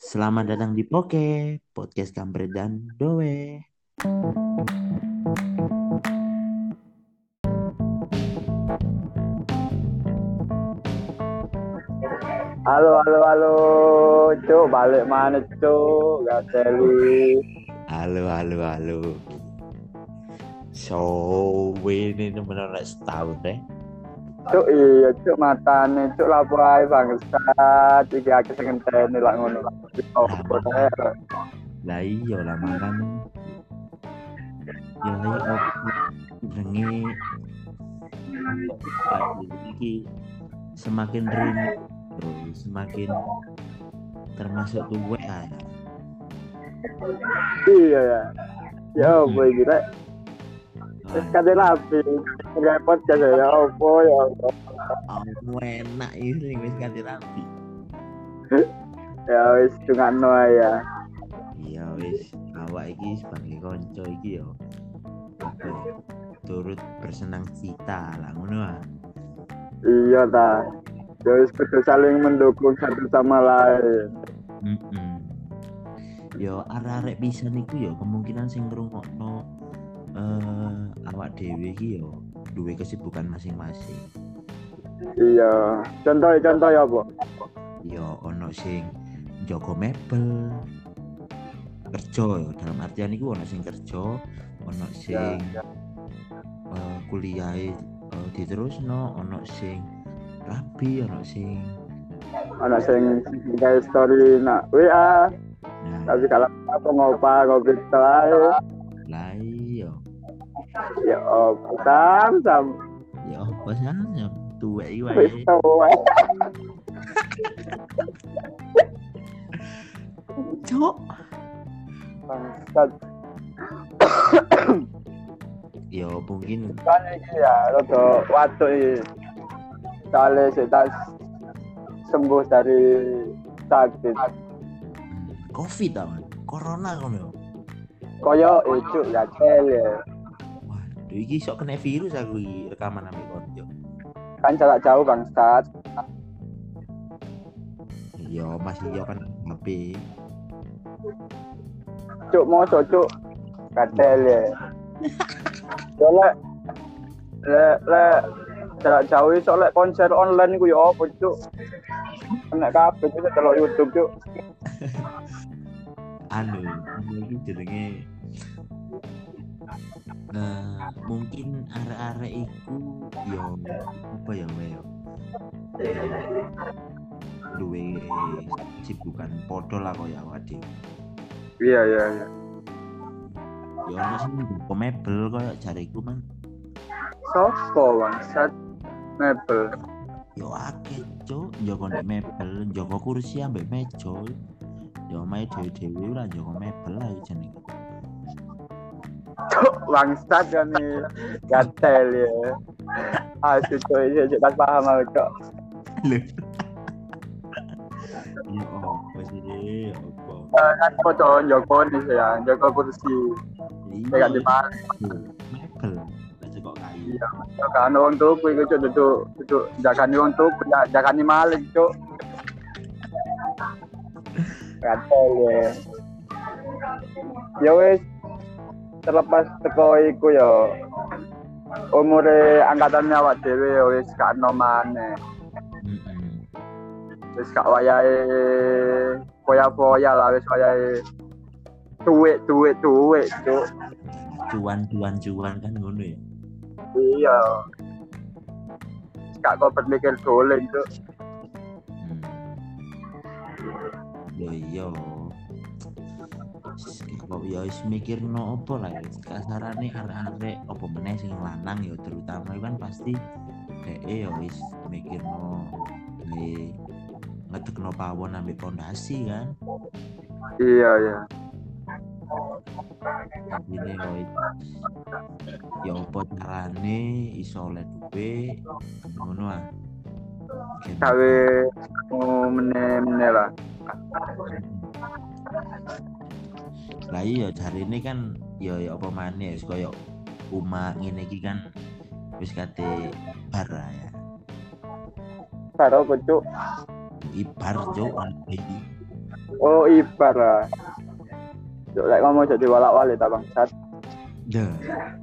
Selamat datang di Podcast Kampret dan Doe. Halo, halo, halo, cuk, balik mana cuk, gak teli. Halo, halo, halo. So, ini benar setahun deh. Cuk, iya, cuk, matane, cuk, lapo ae bangsat, iki akeh sing ngenteni lak ngono. Opo Lama teh? kan? Lah iya lama kan. Ya iya opo jenenge iki semakin rindu, bro. Semakin termasuk tuwe ya. Iya ya. Ya opo Mm-mm. iki rek? Wis Wah, kate rapi. Repot ya opo ya. aku enak ini wis ganti rapi. Ya wis dungakno ae ya. Iya wis awak iki sebagai konco iki yo apa ya, turut bersenang cita lah ngono ah. Iya ta. Ya wis kudu saling mendukung satu sama lain. Mm-mm. Yo arek-arek bisa niku yo kemungkinan sing ngrungokno awak dhewe iki yo duwe kesibukan masing-masing. Iya. Contoh ya apa? Yo ono sing njogo mebel kerja yo dalam artian iku ono sing kerja, ono sing kuliahe diterusno, ono sing rabi, ono sing Ana sing gawe story nak WA. nah Tapi kalau apa ngopi ae. lah iya Ya apa sam ya apa sih tuwek iki wis wae. tuwa. Cok. Bangsat. Ya mungkin Kan iki ya rada watu iki. Soale sik tak sembuh dari sakit. COVID tau corona kono. Koyo itu ya cele. Waduh iki sok kena virus aku iki rekaman ambek konco. Kan jarak jauh bangsat. Ya masih yo kan HP. Cuk mosok cuk. Katel ya. Soale le jarak jauh iso lek konser online iku ya apa cuk. Kena kabeh cuk delok YouTube cuk. Anu iki jenenge mungkin arek-arek iku yo apa ya wae duwe sibukan podo lah koyo awak dhewe. Iya. Ya ono sing njogo mebel koyo jariku man. Sopo bangsat mebel. Yo akeh cuk njogo nek mebel, njogo kursi ambek meja. Yo omahe dhewe-dhewe ora njogo mebel lah jenenge. Cuk bangsat kan nih. Gatel ya. Asyik cuk iki tak paham aku cuk. Lho. Ya apa sih? Ya apa? Kan foto Joko nih ya, Joko kursi. Saya gak dipaham. Mebel. Lah kok kayu. Iya, kan wong tuku iku cuk duduk jagani wong tuku, jagani maling cuk. Gatel ya. Ya wis terlepas teko iku ya umure angkatannya awak dhewe ya wis gak ono maneh. Mm-mm. Wis gak wayahe foya-foya lah wis wayahe duit cuk. Cuan kan ngono ya. Iya. Wis gak kok berpikir dolen cuk. Ya iya. Kok ya wis mikirno apa lah ya. Kasarane arek-arek apa meneh sing lanang ya terutama kan pasti ya wis mikirno ngedekno pawon ambek pondasi kan. Iya. Ini ya apa carane iso oleh duwe ngono ah. Gawe meneh lah. Lah iya jarine kan ya apa maneh wis koyo Uma ngene iki kan wis kate bar lah ya. Karo cuk. Ibar cuk iki. Oh, ibar lah. Cuk lek ngomong jadi walak-walik ta bangsat. Dah.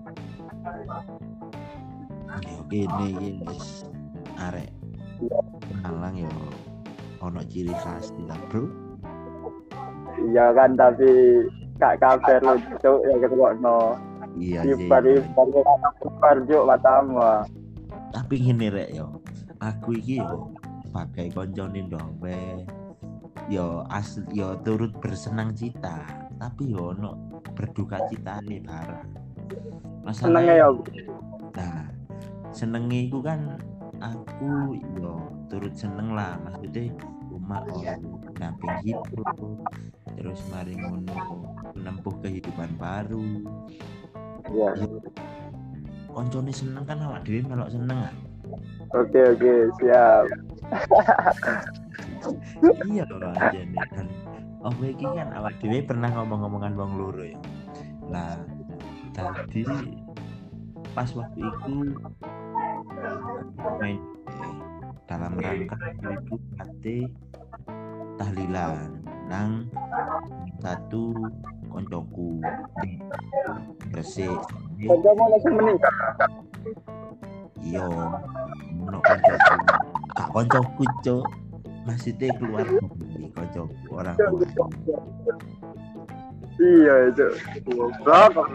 Yo kene iki wis arek Malang yo ono ciri khas lah, Bro. Iya kan tapi gak kabar lu cuk ya ketokno. Iya sih. Ibar cuk matamu. Tapi ngene rek yo. Aku iki yo sebagai koncone Ndowe yo asli yo turut bersenang cita, tapi yo ono berduka citane bareng. Senenge ya. Nah, senenge iku kan aku yo turut seneng lah, maksudnya umat namping hidup terus mari ngono menempuh kehidupan baru. Iya. Koncone seneng kan awak dhewe melok seneng ah. Oke, siap. Iya loh aja nih kan. Oh iki kan awak dhewe pernah ngomong-ngomongan wong loro ya. Lah tadi pas waktu itu main dalam rangka itu kate tahlilan nang satu koncoku di Gresik. Kancamu langsung meninggal. Iya, ono koncoku. Kak koncoku cuk. Maksudnya keluar dari koncoku orang tua. Iya itu. Goblok.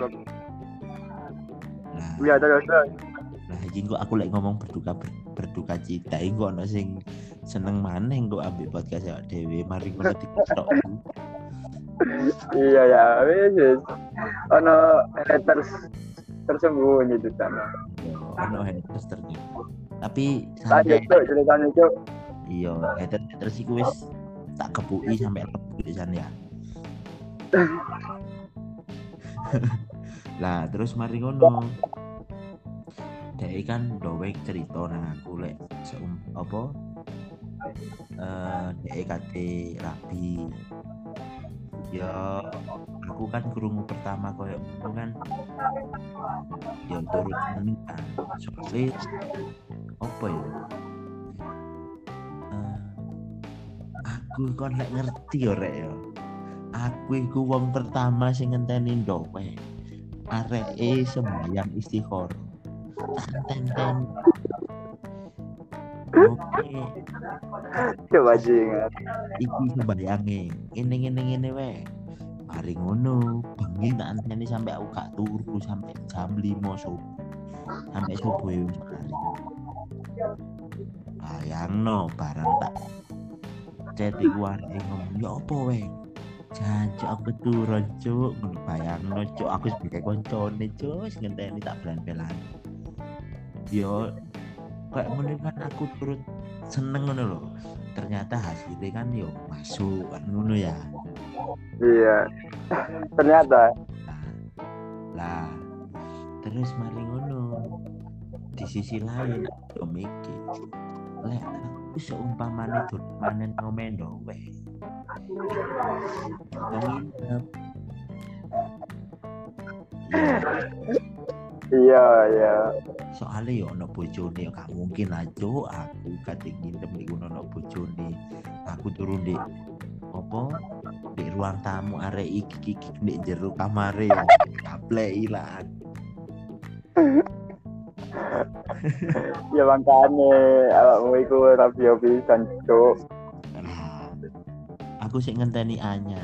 Nah, Iya terus. nah iki kok aku lek ngomong berduka cita iki kok ono sing seneng maneh kok ambil podcast awak dhewe mari ngono TikTok. Iya ya, wis. Ono haters tersembunyi di sana. Ono haters ternyata. Tapi Lanjut santai. cuk, ceritanya cuk. Iya, haters iku wis tak kepuki sampai lebu di sana ya. Lah terus mari ngono. Dek kan dowek cerita nang aku lek apa dek kate rabi. Ya aku kan krungu pertama koyo ngono kan. Ya turut seneng kan. Soalnya apa ya? Aku kon lek ngerti ya rek ya. Aku iku wong pertama sing ngenteni dowek. Areke sembahyang istikharah. Ten. Oke. Coba jingat. Iki sembayange. Ngene wae. Mari ngono, bengi tak anteni sampai aku gak turu sampai jam 5 subuh. Sampai subuh wis mari. Bayangno barang tak ceti warne ngomong ya apa wae. Jancuk aku turun cuk, ngono bayangno cuk aku sebagai koncone cuk wis ngenteni tak belan-belan. Yo kayak ngono kan aku turut seneng ngono lho. Ternyata hasilnya kan yo masuk kan ngono ya. Iya. Ternyata. Lah terus mari ngono. Di sisi lain aku mikir, lek aku seumpamane manen ngomendo wae. Ngomong Iya. Soalnya ya ono bojone gak mungkin aja aku kate ngintem iku ono bojone. Aku turun di apa di ruang tamu arek iki di jero kamare ya kaplek ilang. Ya makane awakmu iku rapi pisan cuk. Nah, aku sik ngenteni Anya.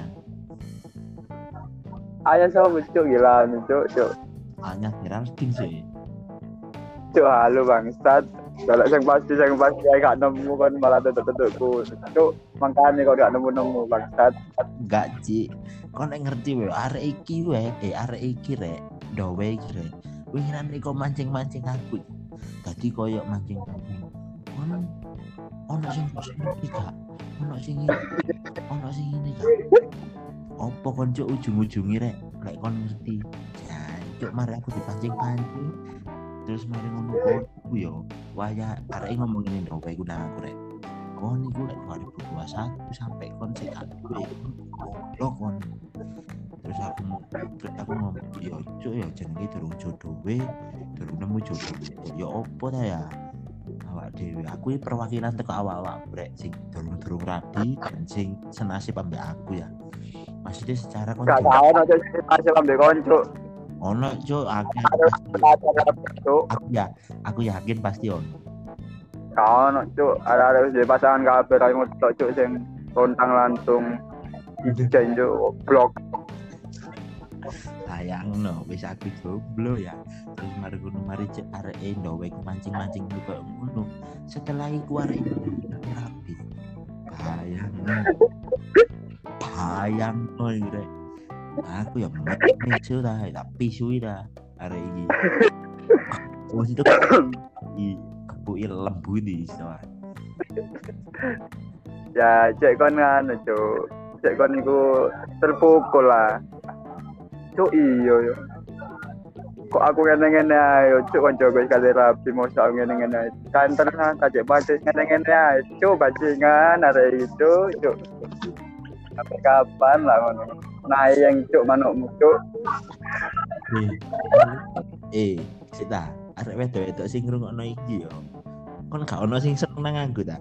Ayah sama cuk gila cuk. Anya Geraldine sih. Cuk halu bangsat. Kalau yang pasti gak nemu kan malah tutuk-tutukku. Cuk makane kok gak nemu bangsat. Enggak Ci. Kon nek ngerti wae arek iki rek, dowe iki rek. Winginan iki mancing-mancing aku. Dadi koyo mancing-mancing. Ono sing ngerti gak? Ono sing ini gak? Opo kon cuk ujung-ujungi rek lek kon ngerti. Cuk mari aku dipancing-pancing. Terus mari ngono aku yo. Waya arek ngomong ngene dong kowe nang aku rek. Kon iku lek 2021 sampai kon sik duwe. Lho kon. Terus aku ngomong yo cuk yo jenenge durung jodoh we, durung nemu jodoh. Ya opo ta ya? awak dhewe. Aku iki perwakilan teko awak-awak brek sing durung rabi dan sing senasib ambek aku ya. Maksudnya secara Gak konjen tau nanti masih ambil konco. ono cuk akeh Harus pasti. cuk. Aku yakin pasti ono. Kau nak cuk, ada di pasangan kabeh ra ngotok cuk sing lontang lantung ijen cuk blok. Sayangno wis aku jomblo ya. Terus mari cek areke ndowe mancing-mancing koyo ngono. Setelah iku areke rapi. Bayangno iki rek. Aku ya mesu dah, tapi suwi dah arek iki. Wis itu kepuki lembu di soal. Ya cek kon kan cuk. Cek kon iku terpukul lah. Cuk iya yo. Kok aku ngene-ngene ae cuk kanca gue sekali rapi mau sak ngene-ngene ae. Kan tenan tajek bacis ngene-ngene ae. Cuk bajingan arek itu cuk. Sampai kapan lah ngono. Nah yang cuk manukmu cuk. Sita, arek wedok sing ngrungokno iki yo. Kon gak ono sing seneng nang aku ta?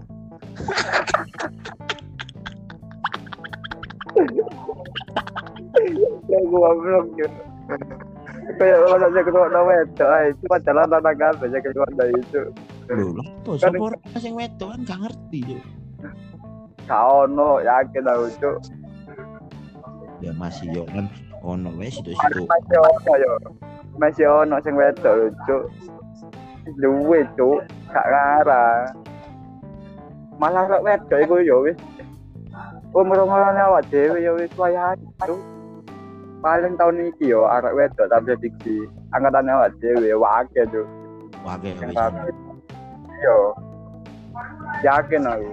Ya gua belum cuk. Kayak orang yang kedua nama itu, cuma jalan tanah kabel yang kedua dari itu. Lho, lho, sapa sing wedok kan gak ngerti yo. Kau no yakin aku cuk. Ya masih yo kan ono wes situ-situ. Masih ono yo. Masih ono sing wedok lho cuk. Duwe cuk, gak ngarah. Malah rek wedok iku yo wis. Umur-umurane awak dhewe yo wis wayahe cuk. Paling tahun iki yo arek wedok tapi diksi angkatane awak dhewe wake cuk. Wage wis. Yo. Yakin aku.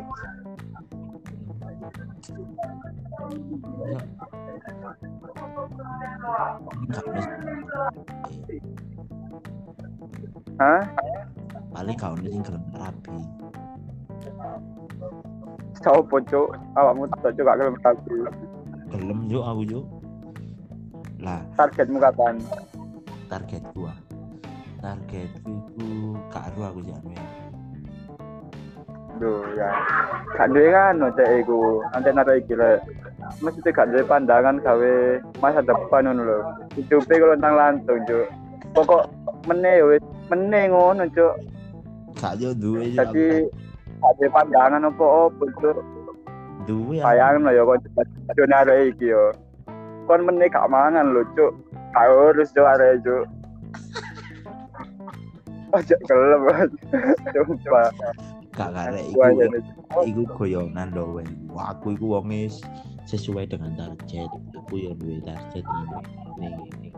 Hah? Paling kau nih sing gelem rapi. Sopo cuk, awakmu tak cuk gak gelem rapi. Gelem yo aku yo. Lah, Targetmu kapan? targetku iku karo aku jane. Duh ya. Gak duwe kan cek iku. Anten arek iki lek. Mesti gak duwe pandangan gawe masa depan ngono lho. Hidupe kok lontang lantung cuk. Pokok meneh yo wis meneh ngono cuk. Gak yo duwe yo. Dadi gak duwe pandangan opo-opo cuk. Duwe Bayangno yo kok duwe arek iki yo. Kon meneh gak mangan lho cuk. Gak urus cuk arek cuk. Ojo gelem. Coba. gak karek iku goyonan lho weh. Wah, aku iku wonge sesuai dengan target. Aku yo duwe target ini.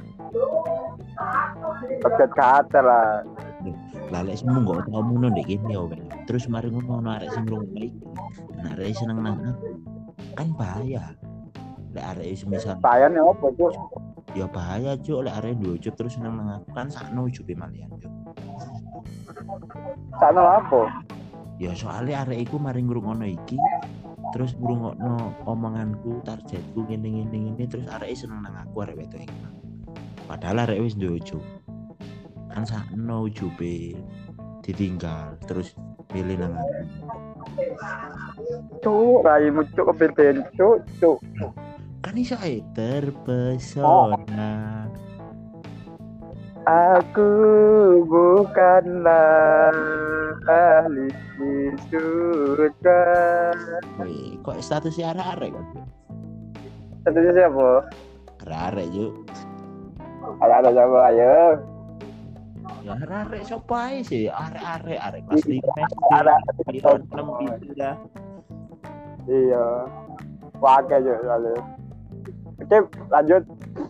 Target kata lah. Lah lek semu kok tau ngono ndek kene yo weh. Terus mari ngono arek sing ngrungokno iki. Nah, arek seneng nang aku. Kan bahaya. Lek arek semisal Sayane opo cuk? ya bahaya cuk lek arek ndujuk terus seneng nang aku kan sakno ujube malian cuk. Sakno apa? Ya soalnya arek iku mari ngrungokno iki terus ngrungokno omonganku, targetku ngene terus arek seneng nang aku arek wedok iki. Padahal arek wis ndujuk. Kan sakno ujube ditinggal terus milih nang aku. Cuk, raimu cuk kepeten cuk. Kan iso ae terpesona. Aku bukanlah ahli surga. Weh, kok statusnya arek-arek kan? Statusnya siapa? Arek yuk. Ada siapa ayo? Ya arek sapa ae sih? Arek kelas 5 Arek. 6 gitu dah. Iya. Wakai cuk lalu. Oke, lanjut.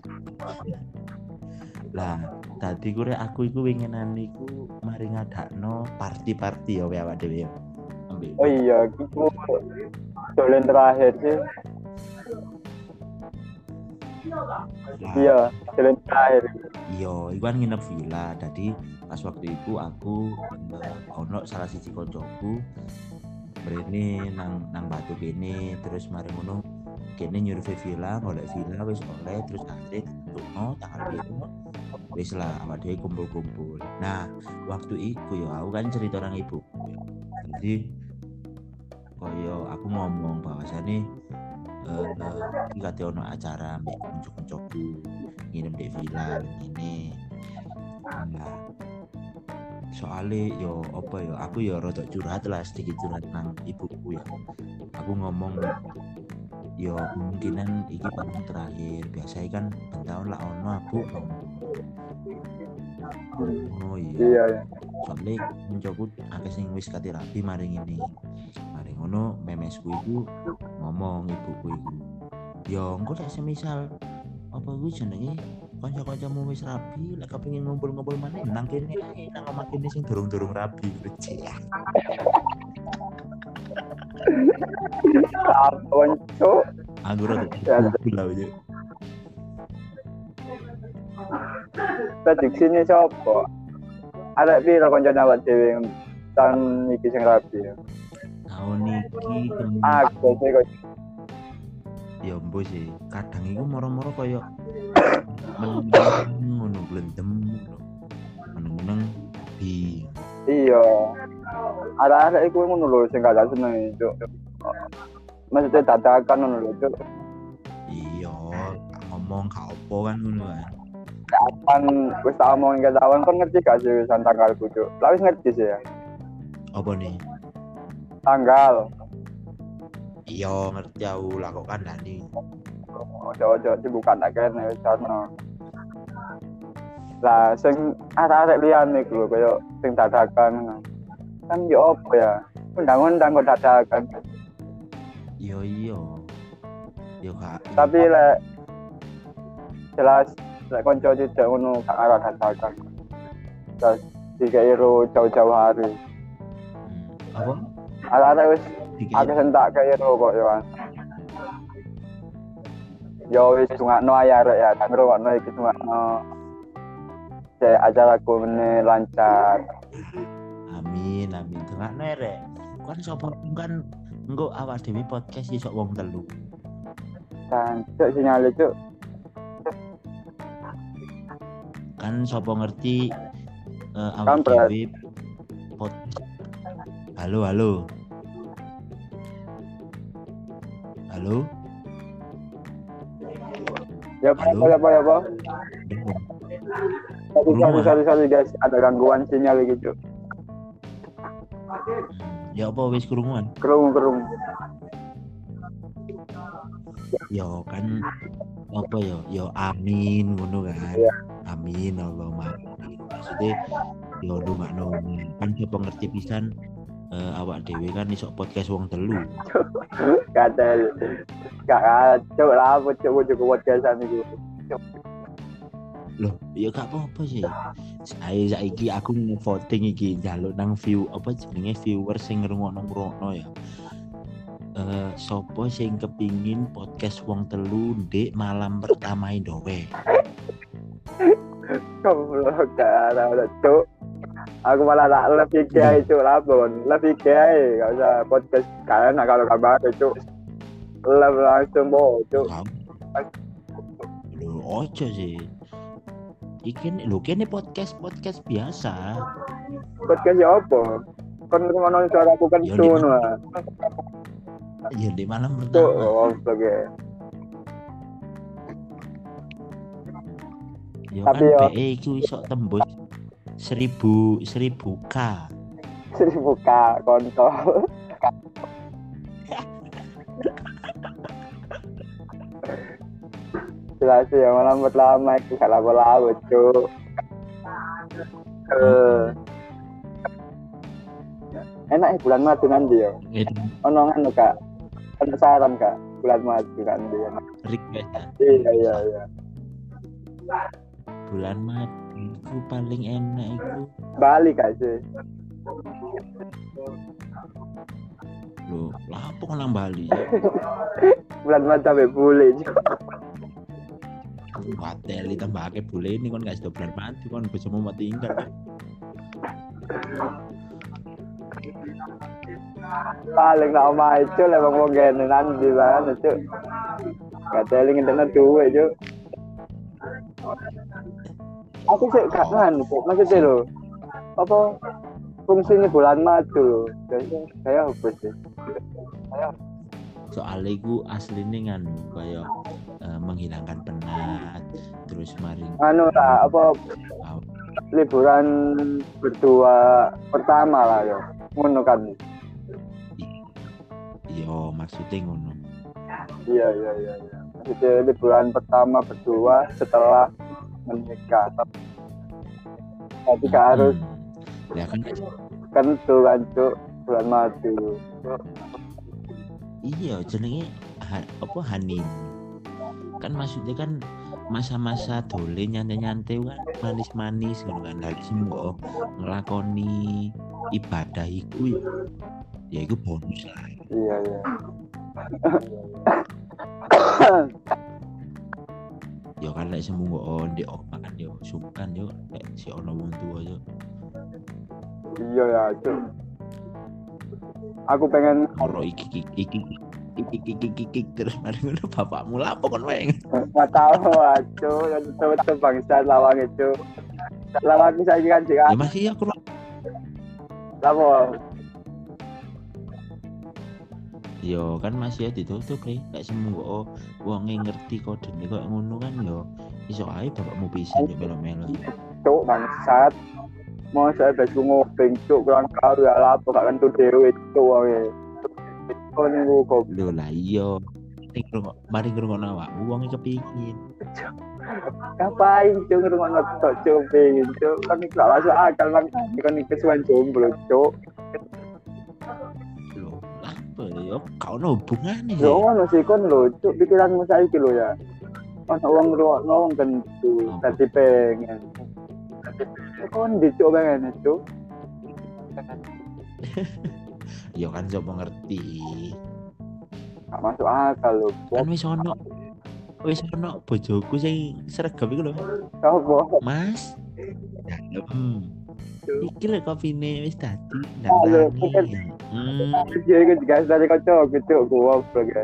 Lah, tadi aku iku winginan iku mari ngadakno party ya awak dhewe. Oh iya, iku dolen terakhir sih. Iya, dolen terakhir. Iya, iku kan nginep villa. Jadi pas waktu itu aku ono salah siji koncoku mrene nang batu kene terus mari ngono kene nyurvei villa, golek villa wis oleh terus akhirnya ditukno tanggal 7 wis lah awak dhewe kumpul-kumpul. Nah, waktu iku yo aku kan cerita nang ibuku. Jadi koyo aku ngomong bahwasane iki kate ono acara mbek kanca-kancaku nginep di villa ngene. Nah, soalnya yo apa yo aku yo rada curhat lah sedikit curhat nang ibuku ya. Aku ngomong yo kemungkinan iki paling terakhir. Biasanya kan tahun lah ono aku ngomong. Oh Iya. Soalnya mencoba akeh sing wis kate rapi mari ngene. Mari ngono memesku iku ngomong ibuku iku. Yo engko lek semisal apa kuwi jenenge kanca-kancamu wis rapi lek kepengin ngumpul-ngumpul maneh nang kene nang omah kene sing durung-durung rapi gitu. Apaan cuk? Aku rada gula aja. Prediksi ini siapa? Ada piro kanca awak dhewe tahun iki sing rapi. Tahun iki Aku sih kok ya mbok sih. Kadang iku moro-moro koyo ngono glendem ngono. Meneng-meneng di iya. Ada iku ngono lho sing gak seneng itu. Maksudnya dadakan ngono lho itu. Iya, ngomong gak opo kan ngono kan. Kapan wis tak omongin ke kawan kon ngerti gak sih wisan tanggalku cuk. Lah wis ngerti sih ya. Apa nih? Tanggal. Iya, ngerti aku lah kok kandhani. Ojo dibuka tak kene wis ono. Lah sing arek-arek liyane iku lho koyo sing dadakan ngono. Kan yo opo ya? Undang-undang kok dadakan. Iya. Yo kak. Tapi lek jelas lek konco tidak ngono gak arah dadakan. Terus dikira jauh-jauh hari. Apa? Arek-arek wis akeh sentak kaya kok yo. Yo wis dungakno ae arek ya, tak ngrungokno iki dungakno. Acaraku meneh lancar. Amin. Dengakno rek. Kan sapa kan engko awak dhewe podcast iso wong telu. Kan cuk sinyale cuk. Kan sapa ngerti awak dhewe podcast. Halo. Ya apa? Sorry guys, ada gangguan sinyal gitu. Ya apa wis krunguan? Kerung. Ya kan apa ya? Ya amin ngono kan. Ya. Amin Allahumma amin. Maksudnya ya ndongakno kan sapa ngerti pisan awak dhewe kan iso podcast wong telu. Kadal. Gak cuk lah apa cuk podcastan iku. Loh, ya gak apa-apa sih. Saiki aku voting iki njaluk nang view apa jenenge viewer sing ngrungokno ya. Sopo sing kepingin podcast wong telu ndek malam pertama Indowe. Goblok cara cuk. Aku malah tak lebih kiai cuk labon. Lebih kiai gak usah podcast kalian kalau kabar cuk. Langsung bo cuk. Lho ojo sih. Iki lho kene podcast biasa. Podcast ya apa? Kon ngono suara aku kan ngono lah. Ya di malam pertama. Oh, oke. Ya tapi kan yo BE iku iso tembus 1000k. 1000k kontol. Jelas ya malam pertama itu gak lapo-lapo cuk. Enak bulan madu nanti yo. Ono ngono Kak. Ono saran Kak, bulan madu nanti. Request. Iya. Bulan madu itu paling enak itu Bali Kak sih. Loh, lapo kok nang Bali? Bulan madu sampai bule juga. Hotel ditambahake bule ini kon gak sedo bulan madu kon bisa mau tinggal. Paling nak omah itu lah bang wong gene nanti banget cuk. Gak teling internet duwe cuk. Aku sih gak nganu kok. Maksudnya lho. Apa fungsinya bulan madu lho. Saya apa sih? Soalnya iku asline nganu kaya menghilangkan penat terus mari Anu lah apa liburan berdua pertama lah ya. Ngono kan. yo maksudnya ngono. Iya. Maksudnya liburan pertama berdua setelah menikah. Tapi gak harus Ya kan kentu kan cuk bulan madu. iya jenenge apa honeymoon. Kan maksudnya kan masa-masa dole nyantai-nyantai kan manis-manis ngono kan lagi mbok nglakoni ibadah iku ya iku bonus lah. Iya. Ya kan lek semua ndek omah kan yo sungkan yo lek si ono wong tuwa yo. Iya ya cuk. Aku pengen Ora iki terus mari ngono bapakmu lapo kon wae. nggak tahu cuk, yang betul bangsa lawang itu. Lawang saya kan Ya jika masih aku lapo. yo kan masih ditutup nih lek semua wonge ngerti kodene kok ngono kan yo iso ae bapakmu pisan yo melo-melo. Cuk bangsat. Mau saya besok ngopeng cuk kurang karo ya lapo gak kentu dhewe cuk wae. Kon niku kok Lho lah iya mari ngrungokno awakmu wonge kepingin. ngapain cuk ngrungokno tok cuk pengen cuk kan iki gak masuk akal bang kan iki kesuwen jomblo cuk. Lho apa yo kau ono hubungane Yo ngono sih kon lho cuk pikiranmu saiki lho ya. Ono wong ngrungokno wong kentu dadi pengen. Kon dicuk pengen cuk. Yo kan coba ngerti. Gak masuk akal lho. Kan wis ono bojoku sing sregep iku lho. Apa? Mas. Iki lho kopine wis dadi Halo, ndang. Dia ikut gas dari kocok gitu, gua ya.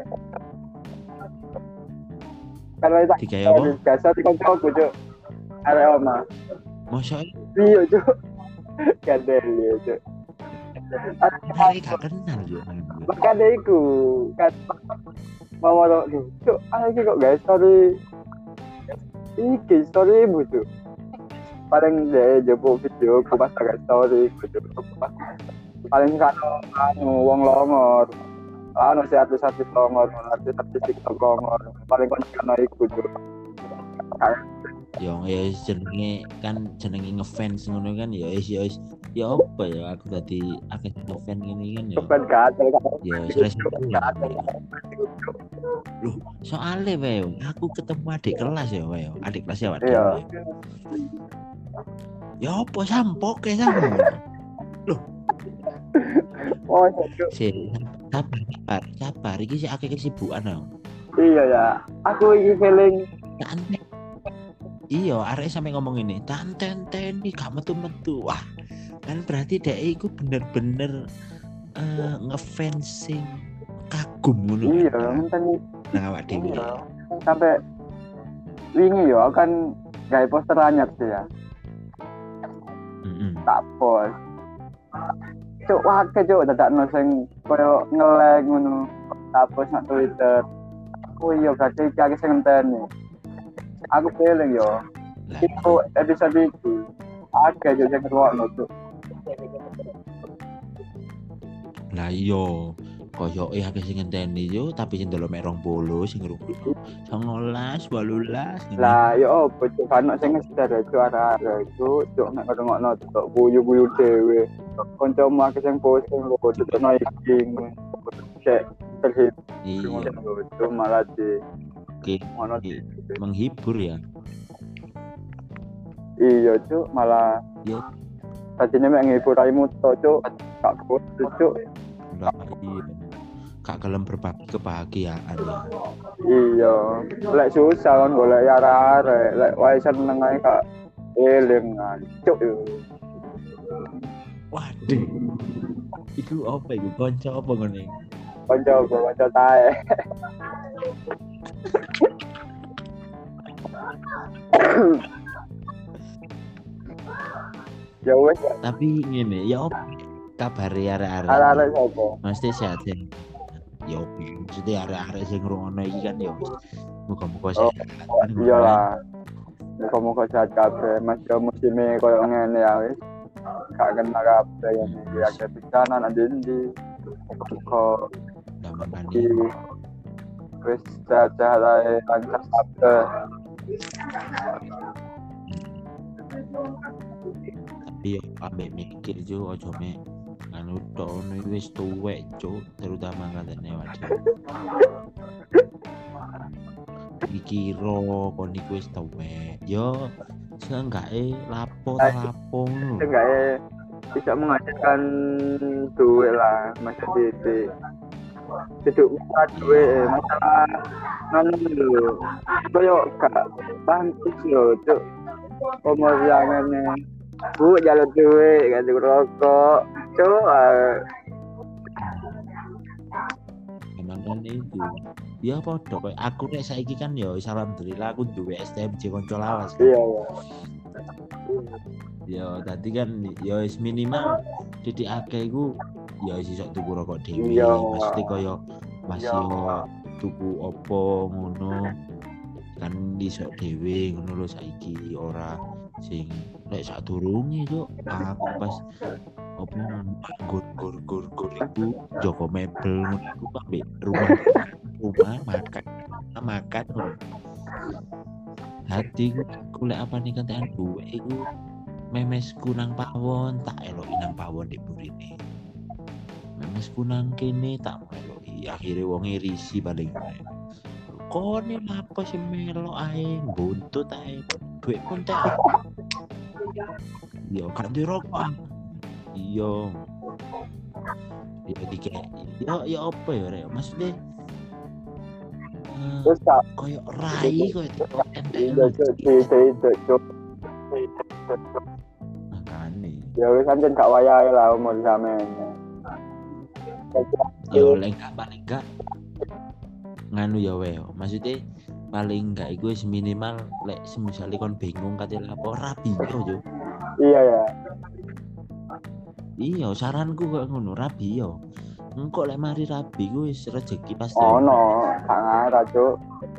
Kalau itu Digawe apa? gas dari kocok gitu. Ada oma. Mosok Iya cuk. Kadel ya cuk. hari gak kenal yo. Makanya iku kan mau cuk. Iki kok guys story. Iki story ibu cuk. Paling dia jebuk video ku pas agak story gitu. Paling kan wong longor. Si artis-artis longor, artis-artis TikTok longor. Paling kan iku cuk. Yo ya jenenge kan jenenge ngefans ngono kan ya wis ya apa ya aku tadi akeh ngefans ngene kan ya. Bukan gatel kan. Ya stres. Loh, soalnya wae aku ketemu adik kelas ya wae. Adik kelas ya wae. Iya. Ya apa sampoke sampo. Loh, Oh cuk. sabar iki sik akeh kesibukan aku. Iya ya. Aku iki feeling Santai. Iya, arek sampe ngomong ini, tanten iki gak metu-metu. Wah, kan berarti dhek iku bener-bener ngefans sing kagum ngono. iya ngenten Nang awak dhewe. sampai wingi yo kan gawe poster anyar sih ya. Heeh. Tak post. Cuk wae cuk dadakno sing koyo nge-like ngono. Tak post nang Twitter. Oh iya berarti iki akeh sing ngenteni. Aku feeling yo. Lah, Itu episode itu agak aja yang ngerokno tuh. lah iya, koyo akeh sing ngenteni yo tapi sing delok mek 20 sing ngrungokno 19, 18. Lah yo opo cuk kan sing ngeser cuk arek cuk nek ngerokno tuh buyu-buyu dhewe. Kancamu akeh sing posting kok tetepno iki. Cek terhib. Iya, Itu malah di oke. ngono. Menghibur ya. Iya cuk malah Yo, tadinya mek ngehibur raimu to cuk gak kudu cuk. lah iya. Gak gelem berbagi kebahagiaan ya. Iya lek susah kan golek arek lek wae seneng ae kak eling cuk. Waduh. Iku apa iku? Kanca apa ngene? Kanca tae. Ya wes, Tapi ngene, ya opo kabare arek-arek? arek-arek sapa? Mesti sehat sih. Ya opo, maksudnya arek-arek sing ngrungokno iki kan ya wis muga-muga Oh, sehat kan ngono iya kan. lah. Muga-muga sehat kabeh. Mas yo musime koyo ngene ya wis. Gak kena kabeh ya iki akeh bencana nang ndi. Kok Zaman iki ini wis sehat-sehat ae lancar kabeh. tapi ya ambek mikir jo ojo mek anu tok ono iki wis tuwek cuk, terutama katene waduh. Dikira kon iku wis tuwek. Yo seenggake lapo ta lapo ngono. Enggak bisa menghasilkan duit lah masa titik hidup masalah duit masalah nganu lho koyo gak pantes lho cuk umur yang ini bu jalan duit ganti rokok cuk Emang kan itu. Ya padha koyo aku nek saiki kan ya wis alhamdulillah aku duwe STMJ kanca lawas kan. iya ya Ya tadi kan ya wis minimal titik akeh iku ya wis iso tuku rokok dhewe. Iya. Maksudnya koyo masih Iya. yo tuku opo ngono kan iso dhewe ngono lho saiki ora sing nek sadurunge kok aku pas opo gur iku Joko mebel ngono iku ambek rumah makan ngono. Hati ku lek apa nih kantean duwe iku memesku nang pawon tak eloki nang pawon di burine. Memesku nang kene tak eloki. Akhire wong irisi paling. Kone lapo sing melo ae buntut ae. Duit pun teh. Yo kan di rokok. Iya. Yo dikek. Yo apa ya rek? Maksudnya terus tak koyo rai koyo iya cuk makane. ya wis anjen gak wayahe lah umur sampean Yo paling enggak nganu ya we. Maksudnya paling enggak iku wis minimal lek semisale kon bingung kate lapo rabi yo. iya ya Iya, saranku kok ngono rabi yo. Engko lek mari rabi ku wis rezeki pasti. ono gak ngarah cuk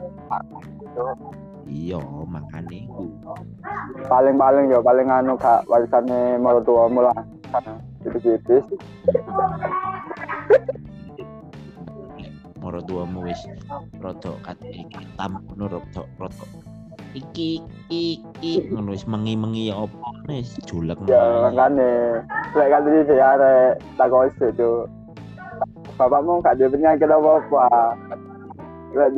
Iya, makane iku. paling ya paling anu gak warisane mertuamu lah tipis-tipis Moro tuamu wis rada kate hitam ngono rada iki ngono wis mengi-mengi ya opo wis julek. ya makane lek kan iki arek tak kok cuk bapakmu gak ada penyakit apa-apa lek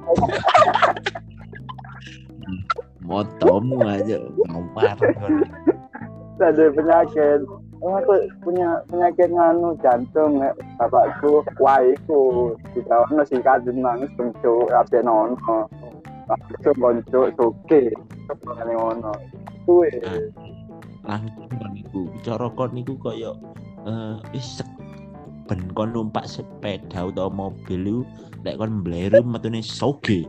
Motomu aja ngawar ngono. ada penyakit aku punya penyakit nganu jantung bapakku waiku dikawano sing kadun nangis bentuk rapi nono langsung boncuk suke ngene ngono kuwe Langsung kon niku cara kon niku koyo wis ben kon numpak sepeda utawa mobil iku lek kon mbleru metune soge.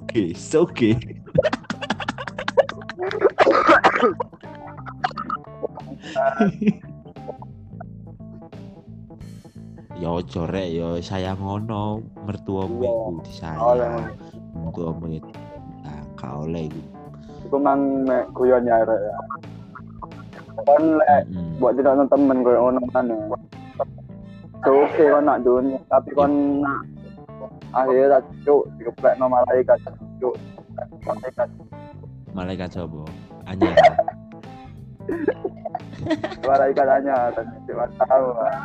Ya ojo rek ya sayang ngono mertuamu iku disayang. Mertuamu itu kau oleh iku. iku mang guyon ya arek kon lek buat tidak temen koyo ngono kan suke kon nak dunia tapi kon nak akhirnya cuk dikeplekno malaikat cuk Malaikat sapa? Anyar. malaikat hanya dan cuma tahu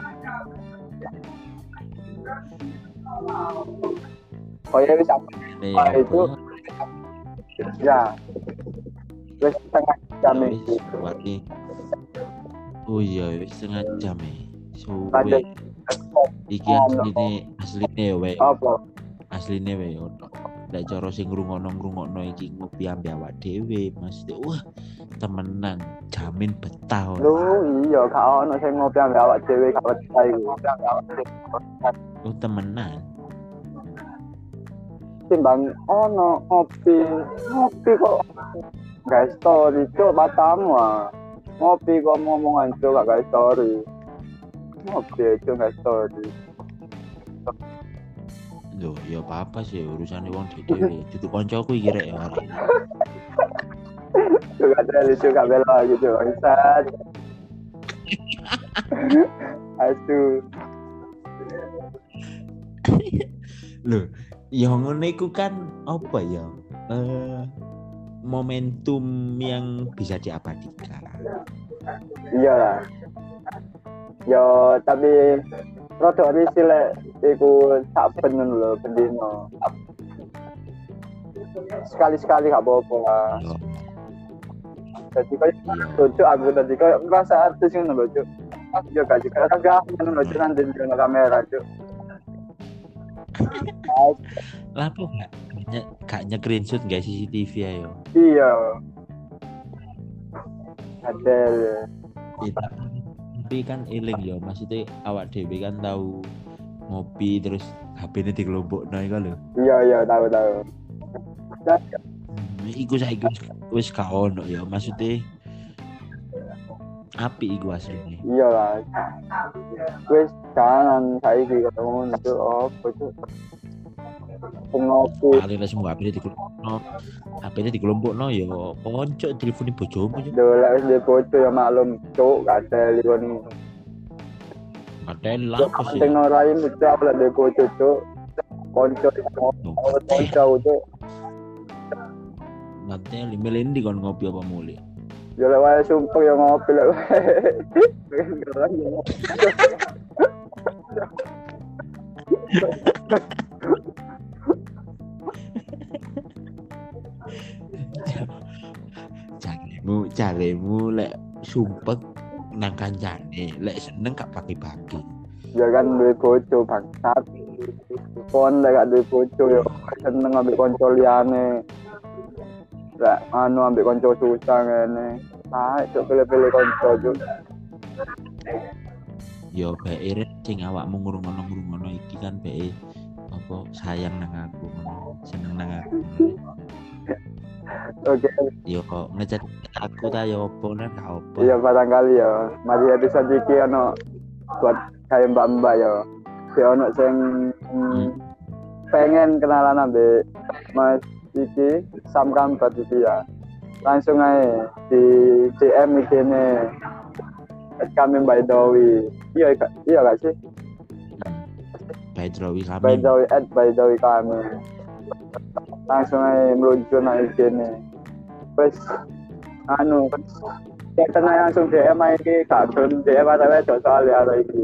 koyo wis itu ya wis setengah jam iki Berarti oh iya wis setengah jam so Lanjut. iki asline we apa asline we ono lek cara sing ngrungokno iki ngopi ambe awak dhewe mesti wah temenan jamin betah lu iya gak ono sing ngopi ambek awak dhewe gak betah iku oh temenan timbang ono ngopi kok guys story cuk batamu Ngopi kok ngomongan cuk gak guys story. Ngopi cuk gak story. Loh, ya apa sih urusan wong dhewe. Dudu kancaku iki rek ya arek. Cuk gak ada lucu gak bela gitu bangsat. Aduh. Loh, ya ngono iku kan apa ya? Momentum yang bisa diabadikan. Iya lah. Yo tapi rada risi lek iku saben lho bendino. Sekali-sekali gak apa-apa lah. Yo, Jadi kayak iya. lucu aku tadi kayak ngerasa artis ngono lho cuk. Yo gak juga kagak ngono lho cuk nanti di kamera cuk. Lah kok gak nge-screenshot gak CCTV ayo. Iya. Ada. Tapi kan eling ya, maksudnya awak dhewe kan tahu ngopi terus HP-ne dikelompokno iku lho. Iya tahu. Iku saiki wis gak ono ya, maksudnya apik iku asline. Iya lah. Wis kanan saiki ketemu itu apa cuk. Ngopi. Paling lah semua HP-ne dikelompokno ya konco telepone bojomu ya. Dolek wis di foto ya maklum cuk gak ada liwani. Padahal lah apa sih? Penting norai mucap lah di foto cuk. Konco cuk. Ngateli melendi kon ngopi apa muli. Ya lek wae sumpah ya ngopi lek wae. Caremu lek sumpek nang kancane, lek seneng gak bagi-bagi. Ya kan duwe bojo bangsat. Kon lek gak duwe bojo ya seneng ambek konco liyane. Lek ambek konco susah ngene. Cuk pilih-pilih konco cuk. Yo bae irit sing awakmu ngurung-ngurung iki kan bae apa sayang nang aku ngono, seneng nang aku. Oke. Yo kok ngechat aku ta yo opo nang gak opo. Iya barangkali ya. Mari episode iki ono buat kayak mbak-mbak ya. Si ono sing pengen kenalan ambek Mas iki Sam Kambat iki ya. Langsung aja di DM IG-ne kami Mbak Dowi. Iya gak sih? By Drowi kami. By Dowi kami. Langsung aja meluncur nang IG-ne. Wes kita langsung DM aja iki gak gelem DM ada wedok soalnya ada iki.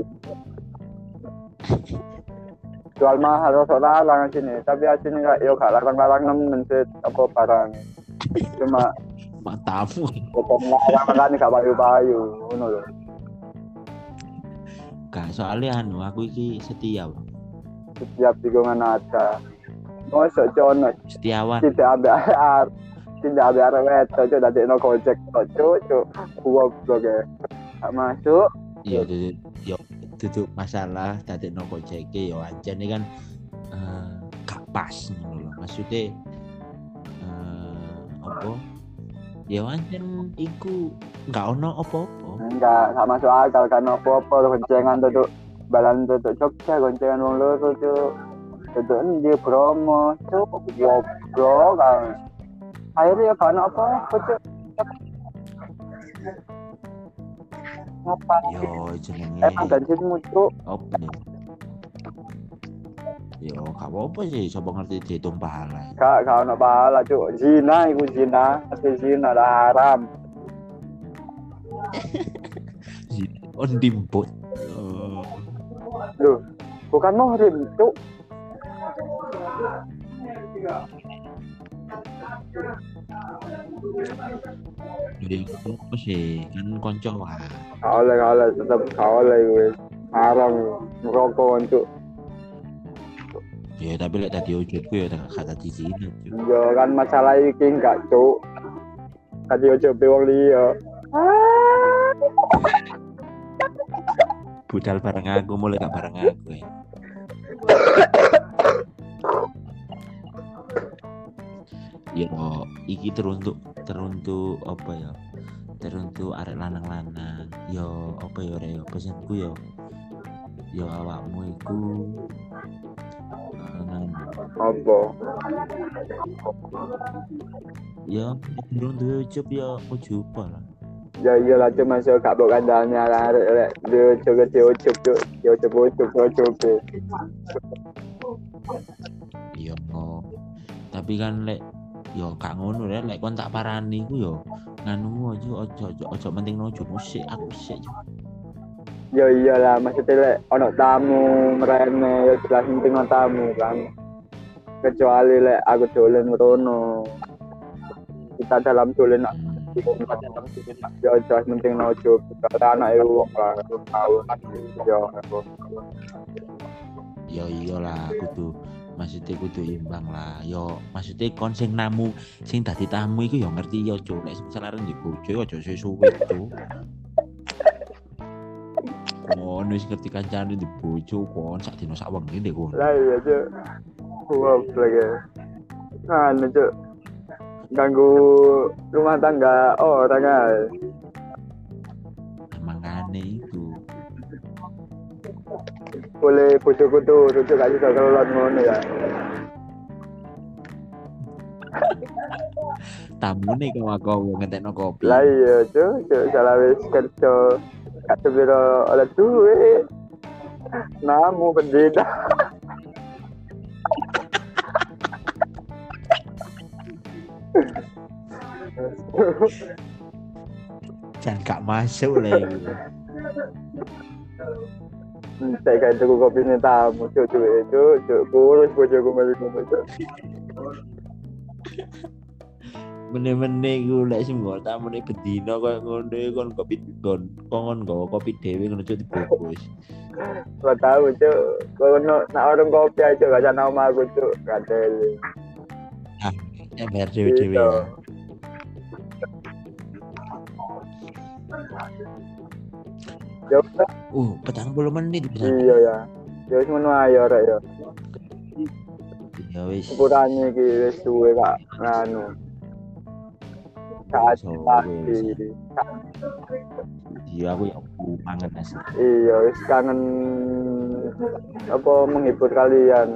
Jual mahal rosok larang sini, tapi aslinya gak larang-larang nemen sih apa barang. Cuma matamu. potong larang kan gak payu-payu ngono lho. Gak soalnya aku iki setia. Setiap tikungan ada. Mosok cono Setiawan. Tidak ada arek wedok cuk dadekno gojek cuk. Goblok ya. Gak masuk. Iya duduk masalah dadekno gojeke yo anjane kan gak pas ngono lho. Maksudnya apa? Ya anjen iku gak ono apa-apa. Enggak masuk akal kan apa-apa goncengan duduk balan duduk Jogja goncengan wong loro cuk. Duduk endi Bromo cuk goblok kan. Akhirnya ya kan apa-apa cuk. Ngapain? Yo jenenge Emang bensinmu cuk. apa nih? Yo gak apa-apa sih, sapa ngerti dihitung pahala. Gak ono pahala cuk. Zina iku zina, zina haram. On dimput. Loh, bukan muhrim cuk. Jadi apa sih kan konco lah. Oleh tetap oleh gue haram merokok cuk. Ya tapi lek tadi wujudku ya kata di sini. Yo kan masalah iki enggak cuk. Tadi ojo wong liya. Budal bareng aku mulai gak bareng aku ya. Ya iki teruntuk apa ya? teruntuk arek lanang-lanang yo apa yo rek yo pesanku yo awakmu iku Apa? yo durung duwe ujub yo ujuba lah. Ya iyalah cuma masuk gak bawa kandangnya arek rek dia coba dia ucup. Iya, tapi kan lek yo gak ngono lek kon tak parani ku yo nganu ojo pentingno ujub musik aku sik. Ya iyalah maksudnya lek ono tamu merene ya jelas penting tamu kan. Kecuali lek aku dolen ngono. Kita dalam dolen ya jelas penting ujub karena anak wong lah tahu yo iyalah maksudnya kudu imbang lah yo maksudnya kon sing namu sing dadi tamu iku yo ngerti yo cuk nek misal arep di bojo aja suwe cuk kon wis ngerti kancane di bojo kon sak dino sak wengi ndek kon lah iya cuk goblok ya anu cuk ganggu rumah tangga orang ae mangane iku boleh bojoku tuh rujuk gak bisa kelolot ngono ya tamune kok ngentekno kopi lah iya cuk salah wis kerja gak sebiro oleh duit namu pendeta jangan gak masuk lah iku saya kayak tuku kopi ini tamu cuk kurus bojoku melu ngono cuk mene-mene iku lek sing nggo tamune bedino koyo ngono kon kopi kon nggawa kopi dhewe ngono cuk dibungkus. Gak tahu cuk kono nak orang kopi aja gak ada nama aku cuk kadel Ya biar dhewe-dhewe ya. Ya udah 40 menit bisa. iya ya ya wis ngono ae ya rek ya Ya wis. ukurannya iki wis suwe kak nganu saat pasti Iya aku ya kangen asli. iya wis kangen apa menghibur kalian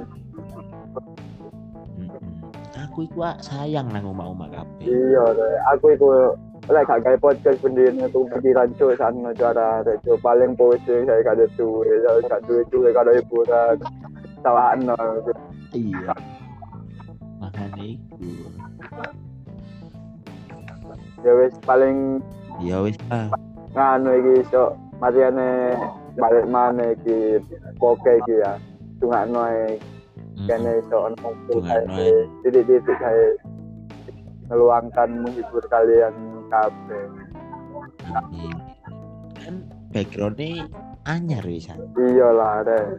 Aku iku sayang nang omah-omah kabeh. iya rek aku iku lek gak gawe podcast bendine tuh pikiran cuk sana cara rek cuk paling pusing saya gak ada duwe saya gak duwe kalau hiburan salahno Iya. Makane iku. ya wis paling Ya wis lah. nganu iki iso mariane balik maneh iki poke iki ya tungakno ae kene iso ono titik-titik kae meluangkan menghibur kalian kabeh Kan background-nya anyar wis. iyalah rek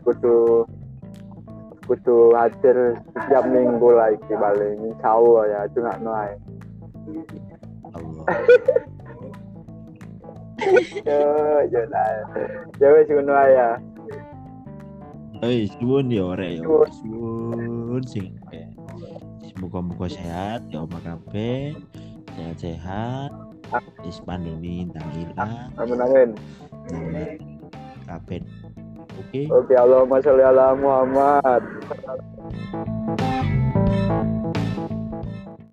kudu hadir setiap minggu lah iki paling insyaallah ya tungakno ae Allah. ya lah ya wis ngono ae ya Suwun ya rek ya. Suwun sing semoga sehat ya omah kabeh. Sehat-sehat. Wis pandemi entang ilang. amin Kabeh. Oke. Allahumma sholli ala Muhammad